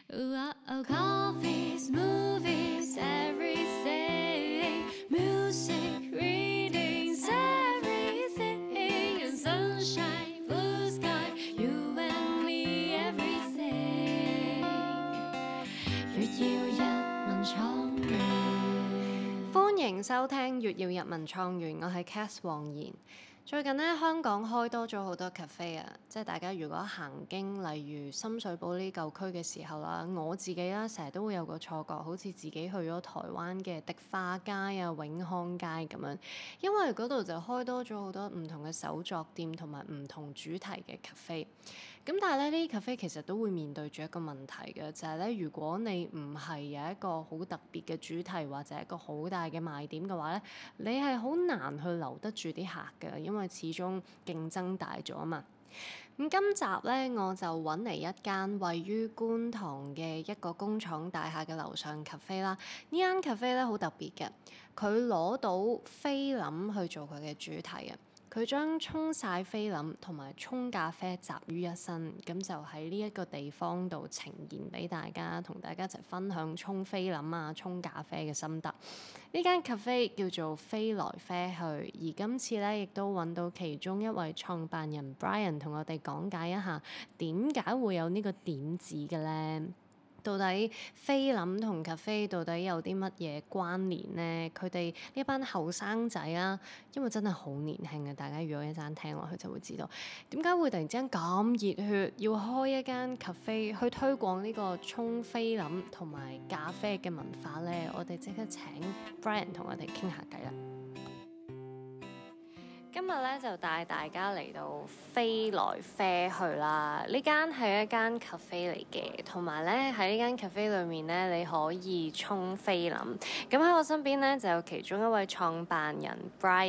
Coffees, movies, everything. Music, readings, everything. And sunshine, blue sky, you and me, everything. 月耀日文創園，歡迎收聽月耀日文創園，我係 Cath 黃妍。最近咧，香港開多咗好多 cafe 啊！即係大家如果行經，例如深水埗呢舊區嘅時候啦，我自己啦成日都會有個錯覺，好似自己去咗台灣嘅迪化街啊、永康街咁樣，因為嗰度就開多咗好多唔同嘅手作店同埋唔同主題嘅 cafe。咁但係咧，呢啲 cafe 其實都會面對住一個問題嘅，就係咧，如果你唔係有一個好特別嘅主題或者一個好大嘅賣點嘅話咧，你係好難去留得住啲客嘅，因為始終競爭大咗啊嘛。咁今集咧，我就揾嚟一間位於觀塘嘅一個工廠大廈嘅樓上 cafe 啦。呢間 cafe 咧好特別嘅，佢攞到菲林去做佢嘅主題啊！佢將沖曬菲林同埋沖咖啡集於一身，咁就喺呢一個地方度呈現俾大家，同大家一齊分享沖菲林啊、沖咖啡嘅心得。呢間 cafe 叫做飛來啡去，而今次咧亦都揾到其中一位創辦人 Brian 同我哋講解一下點解會有呢個點子嘅咧。到底菲林同 cafe 到底有啲乜嘢關聯呢？佢哋呢班後生仔啦，因為真係好年輕嘅，大家如果一陣聽落去就會知道點解會突然之間咁熱血，要開一間 cafe 去推廣呢個沖菲林同埋咖啡嘅文化呢？我哋即刻請 Brian 同我哋傾下偈啦！今日咧就帶大家嚟到飛來啡去啦。呢間係一間 cafe 嚟嘅，同埋咧喺呢間 cafe 裏面咧，你可以沖菲林。咁喺我身邊咧就有其中一位創辦人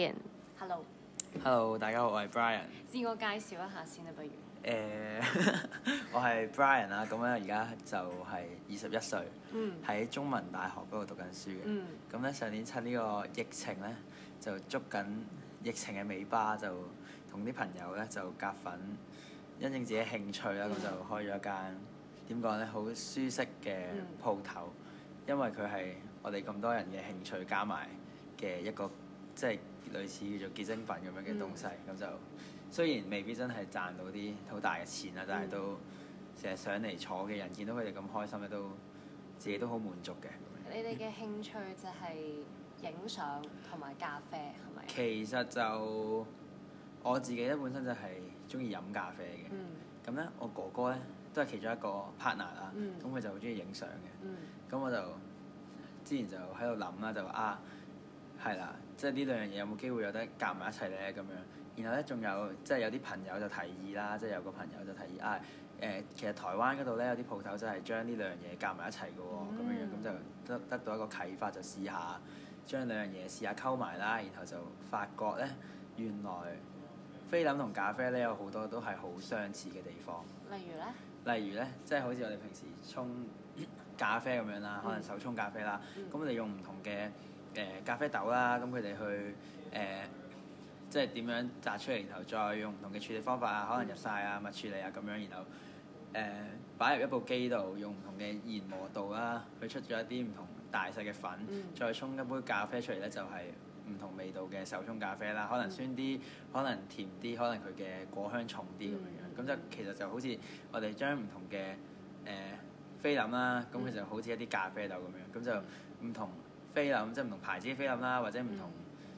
Brian。Hello， 大家好，我係 Brian。 自我介紹一下先啦，不如。 我係 Brian 啦，咁咧而家就係21歲，喺中文大學嗰度讀緊書嘅。咁咧上年趁呢個疫情咧，就捉緊疫情嘅尾巴，就同啲朋友咧就夾份，因應自己興趣啦，咁就開咗一間點講咧，好舒適嘅鋪頭，因為佢係我哋咁多人嘅興趣加埋嘅一個，即係類似叫做結晶品咁樣嘅東西。咁就雖然未必真係賺到啲好大嘅錢啦，但係都成日上嚟坐嘅人見到佢哋咁開心咧，都自己都好滿足嘅。 你哋嘅興趣就係影相同埋咖啡係咪？ 其實就我自己咧本身就係中意飲咖啡嘅，咁咧我哥哥咧都係其中一個 partner 啦，咁佢就好中意影相嘅，咁我就之前就喺度諗啦，就係啦，即係呢兩樣嘢有冇機會有得夾埋一齊咧咁樣，然後咧仲有即係有啲朋友就提議啦，即係有個朋友就提議其實台灣嗰度咧有啲鋪頭就係將呢兩樣嘢夾埋一齊嘅喎，咁樣咁就得到一個啟發，就試下將兩樣嘢試下溝埋啦，然後就發覺咧原來菲林同咖啡咧有好多都係好相似嘅地方。例如咧，即係好似我哋平時沖咖啡咁樣啦，可能手沖咖啡啦，咁我哋用唔同嘅咖啡豆啦，咁佢哋去即係點樣榨出嚟，然後再用唔同嘅處理方法啊，可能日曬啊、蜜處理啊咁樣，然後擺入一部機度，用唔同嘅研磨度啦，去出咗一啲唔同大細嘅粉，再沖一杯咖啡出嚟咧，就係唔同味道嘅手沖咖啡啦，可能酸啲，可能甜啲，可能佢嘅果香重啲咁樣，咁就其實就好似我哋將唔同嘅菲林啦，咁佢就好似一啲咖啡豆咁樣，咁就唔同菲林，即係唔同牌子嘅菲林啦，或者唔同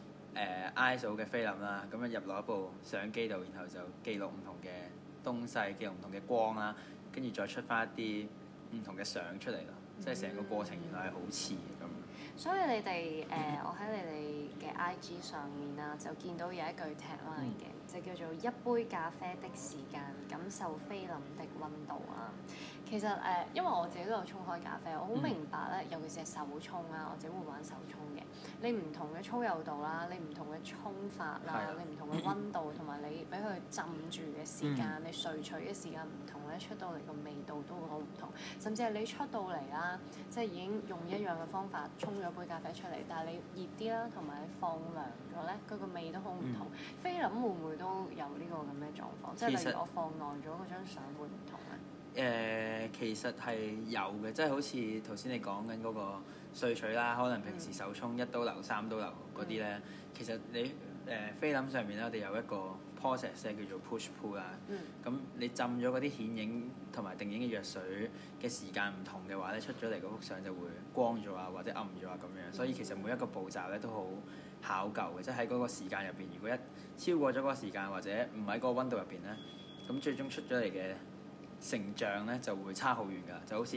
ISO 嘅菲林啦，咁樣入落一部相機度，然後就記錄唔同嘅東西，記錄唔同嘅光啦，跟住再出翻一啲唔同嘅相出嚟咯，即係成個過程原來係好似嘅咁。 所以你哋我喺你哋嘅 IG 上面啦，就見到有一句 tagline 嘅，就叫做一杯咖啡的時間，感受菲林的溫度啊。其實因為我自己都有沖開咖啡，我好明白咧，尤其是係手沖啦，我自己會玩手沖嘅。你唔同嘅粗幼度啦，你唔同嘅沖法啦，你唔同嘅溫度，同埋你俾佢浸住嘅時間，你萃取嘅時間唔同咧，出到嚟個味道都會好唔同。甚至係你出到嚟啦，即係已經用一樣嘅方法沖咗杯咖啡出嚟，但係你熱啲啦，同埋你放涼咗咧，佢個味都好唔同。菲林會唔會都有呢個咁嘅狀況？即係例如我放耐咗嗰張相會唔同咧？ 其實係有嘅，即係好似頭先你講緊嗰個萃取啦，可能平時手沖1刀流、3刀流嗰啲咧，其實你菲林上面咧，我哋有一個 process 咧叫做 push pull 啦。咁你浸咗嗰啲顯影同埋定影嘅藥水嘅時間唔同嘅話咧，出咗嚟嗰幅相就會光咗啊，或者暗咗啊咁樣。所以其實每一個步驟咧都好考究嘅，即係喺嗰個時間入邊，如果一超過咗嗰個時間或者唔喺嗰個溫度入邊咧，咁最終出咗嚟嘅成像咧就會差好遠㗎，就好似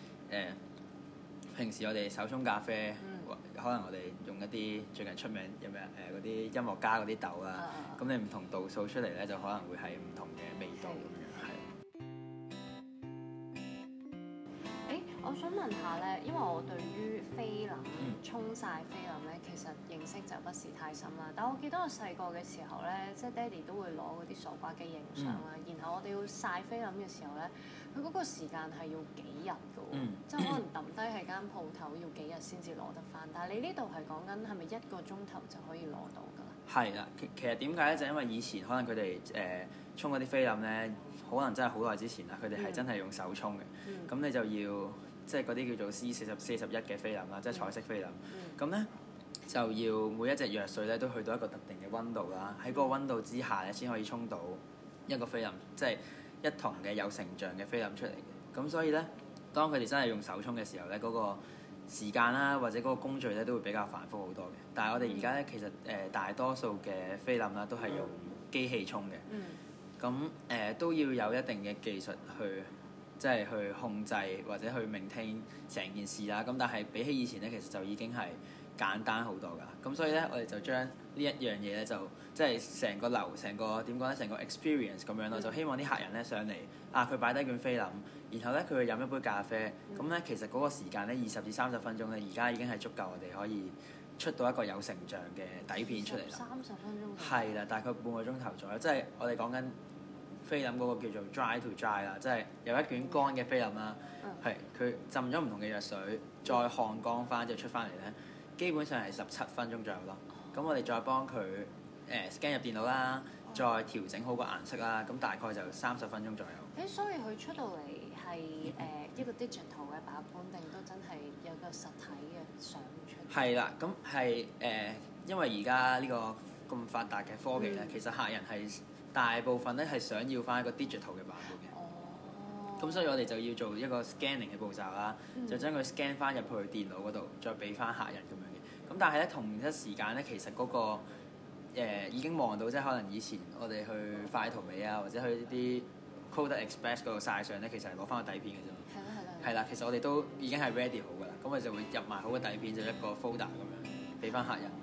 平時我哋手沖咖啡，可能我哋用一啲最近出名有咩嗰啲音樂家嗰啲豆啦，咁你唔同度數出嚟咧，就可能會係唔同嘅味道咁樣，係。 我想問下咧，因為我對於菲林沖曬菲林咧，其實認識就不是太深啦。但我記得我細個嘅時候咧，即係爹哋都會攞嗰啲數碼機影相啦，然後我哋要曬菲林嘅時候咧，佢嗰個時間係要幾日㗎喎，即係可能抌低喺間鋪頭要幾日先至攞得翻。但係你呢度係講緊係咪1個鐘頭就可以攞到㗎啦？係啦，其實點解咧？就因為以前可能佢哋沖嗰啲菲林咧，可能真係好耐之前啦，佢哋係真係用手沖嘅，咁你就要。即係嗰啲叫做 C40、41嘅菲林啦，即係彩色菲林。咁咧就要每一隻藥水咧都去到一個特定嘅溫度啦，喺嗰個溫度之下咧先可以沖到一個菲林，即係一筒嘅有成像嘅菲林出嚟嘅。咁所以咧，當佢哋真係用手沖嘅時候咧，嗰個時間啦或者嗰個工序咧都會比較繁複好多嘅。但係我哋而家咧其實大多數嘅菲林啦都係用機器沖嘅。咁都要有一定嘅技術去。即係去控制或者去maintain成件事啦，咁但係比起以前咧，其實就已經係簡單好多㗎。咁所以咧，我哋就將呢一樣嘢咧，就即係成個成個點講咧，成個 experience 咁樣咯。就希望啲客人咧上嚟佢擺低卷菲林，然後咧佢去飲一杯咖啡，咁咧其實嗰個時間咧20至30分鐘咧，而家已經係足夠我哋可以出到一個有成像嘅底片出嚟啦。 30分鐘。係啦，大概半個鐘頭左右，即係我哋講緊。菲林嗰個叫做 dry to dry 啦，即係有一卷乾嘅菲林啦，係佢浸咗唔同嘅藥水，再烘乾翻就出翻嚟咧，基本上係17分鐘左右咯。咁我哋再幫佢scan 入電腦啦，再調整好個顏色啦，咁大概就30分鐘左右。 所以佢出到嚟係一個 digital 嘅版本，定都真係有個實體嘅相出？ 係啦，咁係因為而家呢個咁發達嘅科技咧，其實客人係。大部分咧係想要翻一個 digital 嘅版本嘅，咁所以我哋就要做一個 scanning 嘅步驟啦，就將佢 scan 翻入去電腦嗰度，再俾翻客人咁樣嘅。咁但係咧同一時間咧，其實嗰個已經望到，即係可能以前我哋去快圖美啊，或者去啲 Coder Express 嗰度曬相咧，其實係攞翻個底片嘅啫。係啦，其實我哋都已經係 ready 好㗎啦，咁我哋就會入埋好個底片，就一個 folder 咁樣俾翻客人。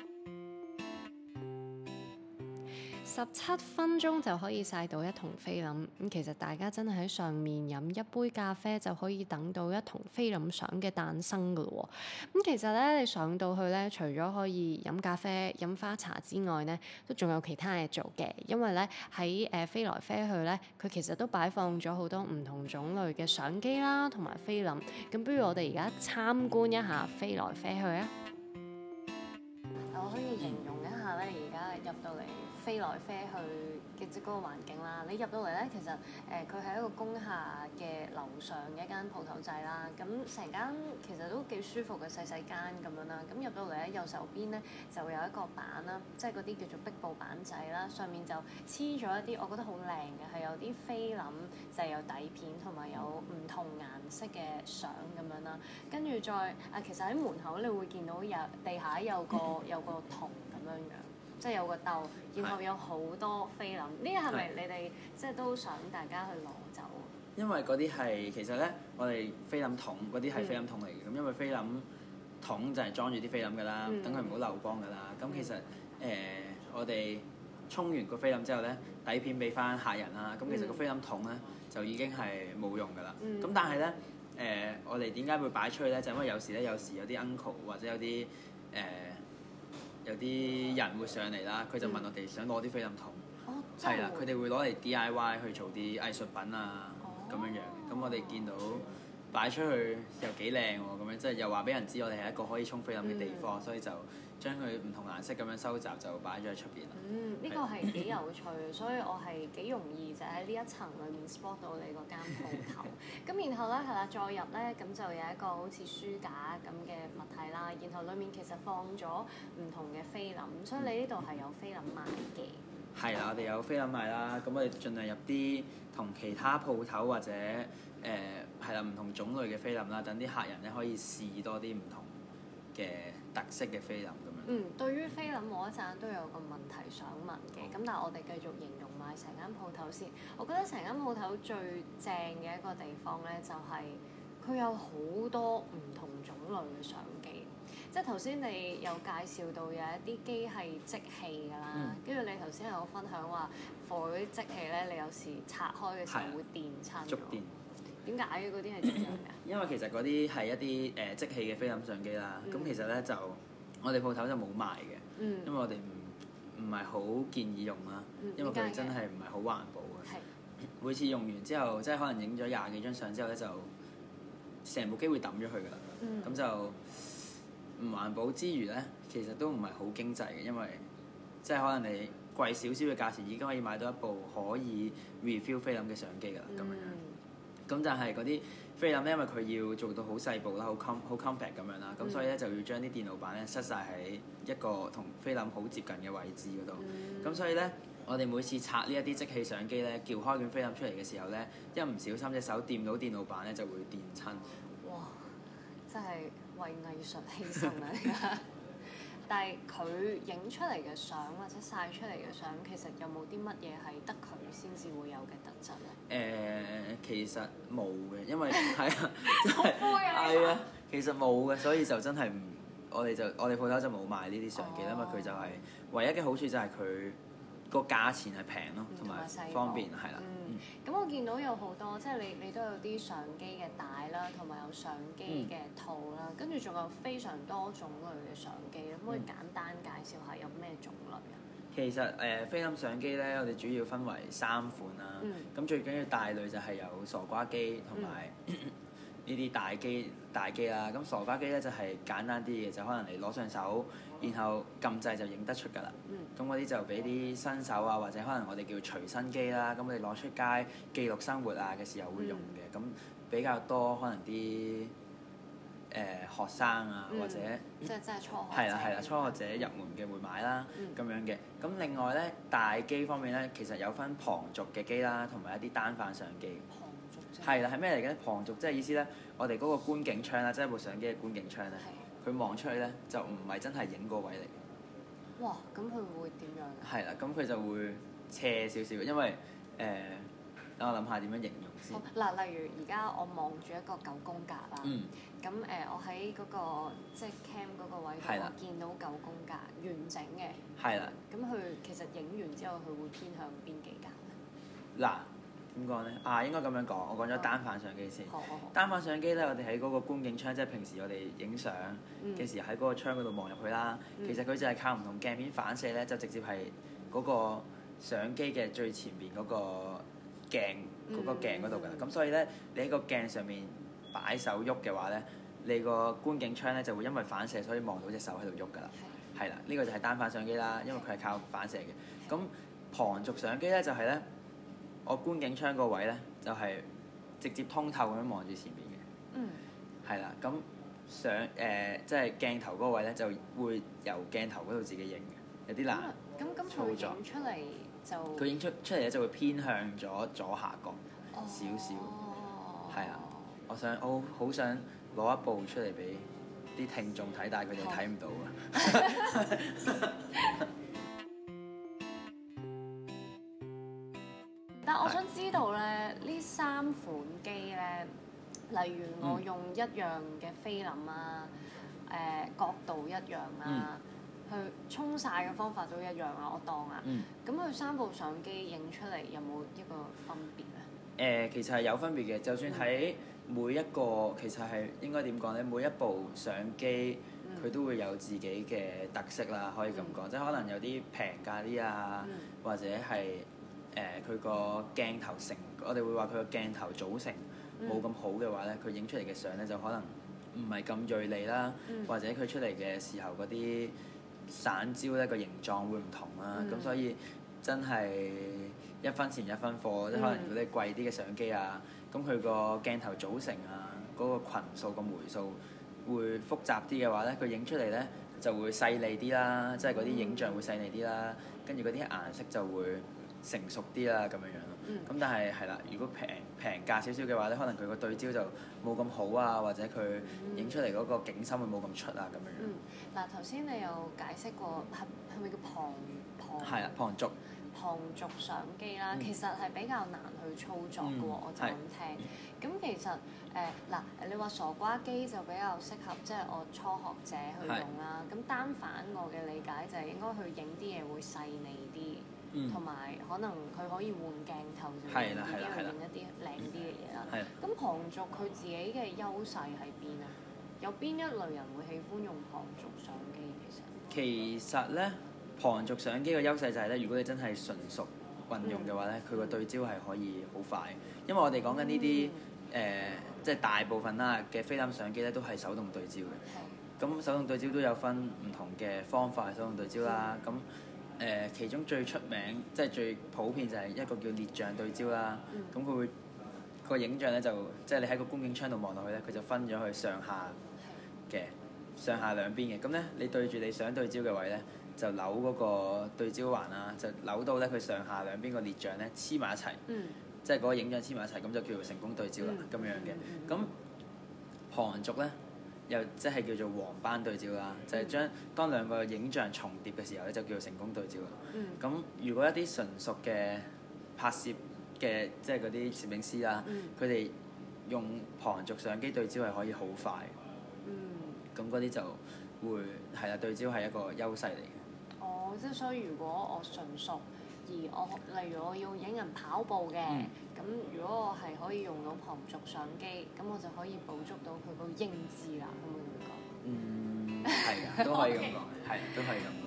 17分鐘就可以曬到一筒菲林，咁其實大家真係喺上面飲一杯咖啡就可以等到一筒菲林相嘅誕生㗎咯喎。咁其實咧，你上到去咧，除咗可以飲咖啡、飲花茶之外咧，都仲有其他嘢做嘅。因為咧喺飛來飛去咧，佢其實都擺放咗好多唔同種類嘅相機啦，同埋菲林。咁不如我哋而家參觀一下飛來飛去啊！ 我可以形容一下咧，而家入到嚟。飛來飛去嘅即嗰個環境啦，你入到嚟咧，其實佢係一個工廈嘅樓上嘅一間鋪頭仔啦，咁成間其實都幾舒服嘅細細間咁樣啦，咁入到嚟咧右手邊咧就有一個板啦，即係嗰啲叫做壁布板仔啦，上面就黐咗一啲我覺得好靚嘅，係有啲菲林，就係有底片同埋有唔同顏色嘅相咁樣啦，跟住再其實喺門口你會見到有地下有個桶咁樣樣。即係有個竇，然後有好多菲林。呢個係咪你哋即係都想大家去攞走？ 因為嗰啲係其實咧，我哋菲林桶嗰啲係菲林桶嚟嘅。咁因為菲林桶就係裝住啲菲林㗎啦，等佢唔好漏光㗎啦。咁其實我哋沖完個菲林之後咧，底片俾翻客人啦。咁其實個菲林桶咧就已經係冇用㗎啦。咁但係咧我哋點解會擺出去咧？就因為有時有啲 uncle 或者有啲有啲人會上嚟啦，佢就問我哋想攞啲菲林桶，係啦，佢哋會攞嚟 DIY 去做啲藝術品啊咁樣樣。咁我哋見到擺出去又幾靚喎，咁樣即係又話俾人知我哋係一個可以沖菲林嘅地方，所以就將佢唔同顏色咁樣收集就擺咗喺出邊啦。 呢個係幾有趣，所以我係幾容易就喺呢一層裏面 spot 到你嗰間鋪頭。咁然後咧係啦，再入咧咁就有一個好似書架咁嘅物體啦，然後裡面其實放咗唔同嘅菲林，所以你呢度係有菲林賣嘅。 係啦，我哋有菲林賣啦，咁我哋盡量入啲同其他鋪頭或者係啦唔同種類嘅菲林啦，等啲客人咧可以試多啲唔同嘅特色嘅菲林咁樣。 對於菲林我一陣都有個問題想問嘅，咁但係我哋繼續形容埋成間鋪頭先。我覺得成間鋪頭最正嘅一個地方咧，就係佢有好多唔同種類嘅相機。即係頭先你有介紹到有一啲機係即棄㗎啦，跟住你頭先有分享話，for 嗰啲即棄咧，你有時拆開嘅時候會電親。觸電。點解嘅？嗰啲係點樣嘅？ 因為其實嗰啲係一啲即棄嘅菲林相機啦，咁其實咧就我哋鋪頭就冇賣嘅，因為我哋唔係好建議用啦，因為佢真係唔係好環保嘅。每次用完之後，即係可能影咗20幾張相之後咧，就成部機會抌咗佢㗎啦，咁就唔環保之餘咧，其實都唔係好經濟嘅，因為即係可能你貴少少嘅價錢已經可以買到一部可以 refill 菲林嘅相機㗎啦，咁樣。咁但係嗰啲菲林咧，因為佢要做到好細部啦，好 compact 咁樣啦，咁所以咧就要將啲電腦板咧塞晒喺一個同菲林好接近嘅位置嗰度。咁所以咧，我哋每次拆呢一啲即棄相機咧，撬開卷菲林出嚟嘅時候咧，一唔小心隻手掂到電腦板咧，就會電親。 哇！真係為藝術犧牲啊！但係佢影出嚟嘅相或者曬出嚟嘅相，其實有冇啲乜嘢係得佢先至會有嘅特質咧？ 其實冇嘅，因為係啊，真係係啊，其實冇嘅，所以就真係唔，我哋鋪頭就冇賣呢啲相機，因為佢就係唯一嘅好處就係佢個價錢係平咯，同埋方便係啦。 咁我見到有好多，即係你都有啲相機嘅帶啦，同埋有相機嘅套啦，跟住仲有非常多種類嘅相機，可唔可以簡單介紹下有咩種類啊？ 其實菲林相機咧，我哋主要分為3款啦。咁最緊要大類就係有傻瓜機同埋呢啲大機啦。咁傻瓜機咧就係簡單啲嘅，就可能你攞上手，然後撳掣就影得出㗎啦。咁嗰啲就俾啲新手啊，或者可能我哋叫隨身機啦。咁我哋攞出街記錄生活啊嘅時候會用嘅。咁比較多可能啲學生啊，或者即係初學係啦，初學者入門嘅會買啦，咁樣嘅。咁另外咧，大機方面咧，其實有分旁軸嘅機啦，同埋一啲單反相機。 旁軸啫。係啦，係咩嚟嘅？旁軸即係意思咧，我哋嗰個觀景窗啦，即係部相機嘅觀景窗咧，佢望出去咧就唔係真係影嗰位嚟嘅。 哇！咁佢會點樣？ 係啦，咁佢就會斜少少，因為等我諗下點樣形容先。 嗱，例如而家我望住一個9宮格啦，咁我喺嗰個即係 cam 嗰個位度，我見到9宮格完整嘅。係啦。咁佢其實影完之後，佢會偏向邊幾格咧？ 嗱，點講咧？應該咁樣講，我講咗單反相機先。 好。 單反相機咧，我哋喺嗰個觀景窗，即係平時我哋影相嘅時喺嗰個窗嗰度望入去啦。其實佢就係靠唔同鏡片反射咧，就直接係嗰個相機嘅最前邊嗰個鏡嗰度㗎啦。咁所以咧，你喺個鏡上面擺手喐嘅話咧，你個觀景窗咧就會因為反射，所以望到隻手喺度喐㗎啦。係啦，呢個就係單反相機啦，因為佢係靠反射嘅。咁旁軸相機咧就係咧，我觀景窗個位咧就係直接通透咁樣望住前邊嘅。係啦，咁即係鏡頭嗰個位咧就會由鏡頭嗰度自己影嘅，有啲難操作。 咁佢影出嚟就佢影出嚟咧就會偏向咗左下角少少。係啊，我好想攞一部出嚟俾啲聽眾睇，但係佢哋睇唔到啊。 但我想知道咧，呢3款機咧，例如我用一樣嘅菲林啊，角度一樣啊，去沖曬嘅方法都一樣啊，我當啊。咁佢3部相機影出嚟有冇一個分別咧？ 其實係有分別嘅，就算喺每一個其實係應該點講咧？每一部相機佢都會有自己嘅特色啦，可以咁講，即係可能有啲平價啲啊，或者係佢個鏡頭我哋會話佢個鏡頭組成冇咁好嘅話咧，佢影出嚟嘅相咧就可能唔係咁鋭利啦，或者佢出嚟嘅時候嗰啲散焦咧個形狀會唔同啦，咁所以真係一分錢一分貨，即係可能如果你貴啲嘅相機啊，咁佢個鏡頭組成啊，嗰個群數個枚數會複雜啲嘅話咧，佢影出嚟咧就會細膩啲啦，即係嗰啲影像會細膩啲啦，跟住嗰啲顏色就會成熟啲啦咁樣樣咯。咁但係啦，如果平價少少嘅話咧，可能佢個對焦就冇咁好啊，或者佢影出嚟嗰個景深會冇咁出啊咁樣樣。 嗱，頭先你有解釋過係咪叫旁？ 係啦， 旁軸相機啦，其實係比較難去操作嘅喎，我就咁聽。咁其實你話傻瓜機就比較適合即係我初學者去用啦。咁單反我嘅理解就係應該去影啲嘢會細膩啲，同埋可能佢可以換鏡頭，就會自己去影一啲靚啲嘅嘢啦。咁旁軸佢自己嘅優勢喺邊啊？有邊一類人會喜歡用旁軸相機？ 其實咧，旁軸相機嘅優勢就係咧，如果你真係純熟運用嘅話咧，佢個對焦係可以好快。因為我哋講緊呢啲即係大部分啦嘅菲林相機咧，都係手動對焦嘅。咁手動對焦都有分唔同嘅方法手動對焦啦。咁其中最出名即係最普遍就係一個叫列像對焦啦。咁佢會個影像咧就即係你喺個觀景窗度望落去咧，佢就分咗去上下兩邊嘅。咁咧你對住你想對焦嘅位咧，就扭嗰個對焦環啦，就扭到咧佢上下兩邊個列像咧黐埋一齊，即係嗰個影像黐埋一齊，咁就叫做成功對焦啦咁樣嘅。咁旁軸咧又即係叫做黃斑對焦啦，就係將當兩個影像重疊嘅時候咧，就叫做成功對焦啦。咁如果一啲純熟嘅拍攝嘅即係嗰啲攝影師啦，佢哋用旁軸相機對焦係可以好快。咁嗰啲就會係啦，對焦係一個優勢嚟嘅。 哦，即係所以如果我純熟，而我例如我要影人跑步嘅，咁如果我係可以用到旁軸相機，咁我就可以捕捉到佢個英姿啦，可唔可以咁講？ 係啊，都可以咁講，係都可以咁講。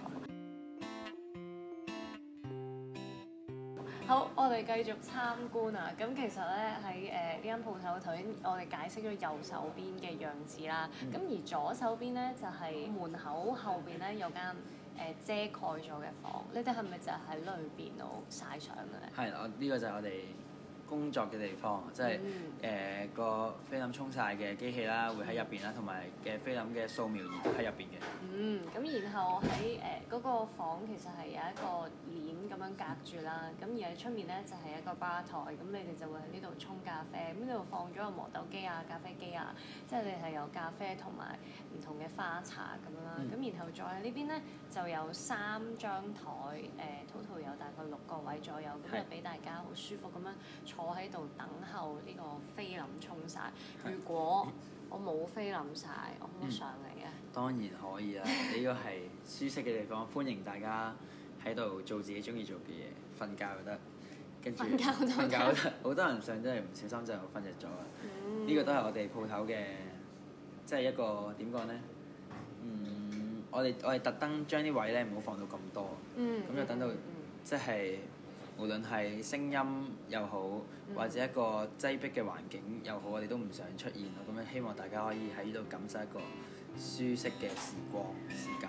好，我哋繼續參觀啊！咁其實咧喺呢間鋪頭，頭先我哋解釋咗右手邊嘅樣子啦。咁而左手邊咧就係門口後邊咧有間遮蓋咗嘅房。你哋係咪就喺裏邊度曬相嘅咧？ 係，呢個就係我哋工作嘅地方，即係個菲林沖曬嘅機器啦，會喺入邊啦，同埋嘅菲林嘅掃描儀都喺入邊嘅。 咁然後喺嗰個房其實係有一個簾咁樣隔住啦，咁而喺出面咧就係一個吧台，咁你哋就會喺呢度沖咖啡，咁呢度放咗個磨豆機啊、咖啡機啊，即係你係有咖啡同埋唔同嘅花茶咁樣啦，咁然後再喺呢邊咧就有3張台，total 有大概6個位左右，咁就俾大家好舒服咁樣坐喺度等候呢個菲林沖曬。如果我冇菲林曬，我可唔可以上嚟嘅？ 當然可以啦，呢個係舒適嘅地方，歡迎大家喺度做自己中意做嘅嘢，瞓覺又得，跟住瞓覺都得。好多人上真係唔小心就瞓着咗啦。呢個都係我哋鋪頭嘅，即係一個點講咧？我哋特登將啲位咧唔好放到咁多，咁就等到即係無論係聲音又好，或者一個擠迫嘅環境又好，我哋都唔想出現咯。咁樣希望大家可以喺呢度感受一個舒適嘅時間。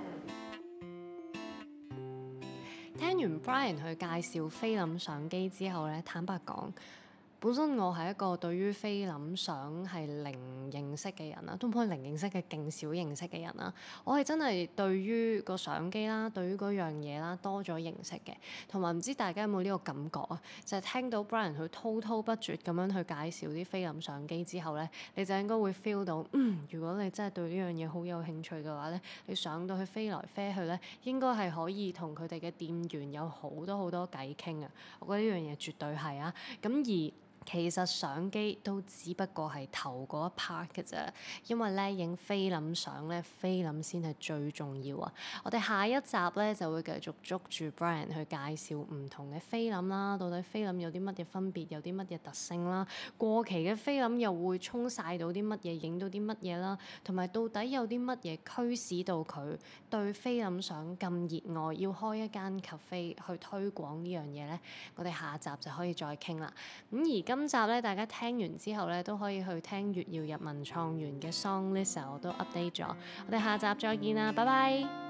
聽完 Brian 去介紹菲林相機之後咧，坦白講，本身我係一個對於菲林相係零認識嘅人啦，都唔可以零認識嘅，勁少認識嘅人啦。我係真係對於個相機啦，對於嗰樣嘢啦多咗認識嘅，同埋唔知大家有冇呢個感覺啊？就係聽到 Brian 佢滔滔不絕咁樣去介紹啲菲林相機之後咧，你就應該會 feel 到，如果你真係對呢樣嘢好有興趣嘅話咧，你上到去飛來飛去咧，應該係可以同佢哋嘅店員有好多偈傾啊！我覺得呢樣嘢絕對係啊，咁而其實相機都只不過係頭嗰一 part 嘅啫，因為咧影菲林相咧，菲林先係最重要啊！我哋下一集咧就會繼續捉住 Brian 去介紹唔同嘅菲林啦，到底菲林有啲乜嘢分別，有啲乜嘢特性啦，過期嘅菲林又會沖曬到啲乜嘢，影到啲乜嘢啦，同埋到底有啲乜嘢驅使到佢對菲林相咁熱愛，要開一間 cafe 去推廣呢樣嘢咧？我哋下集就可以再傾啦。咁而今集咧，大家聽完之後咧，都可以去聽月曜日文創園嘅 song list，我都 update 咗。我哋下集再見啦，拜拜。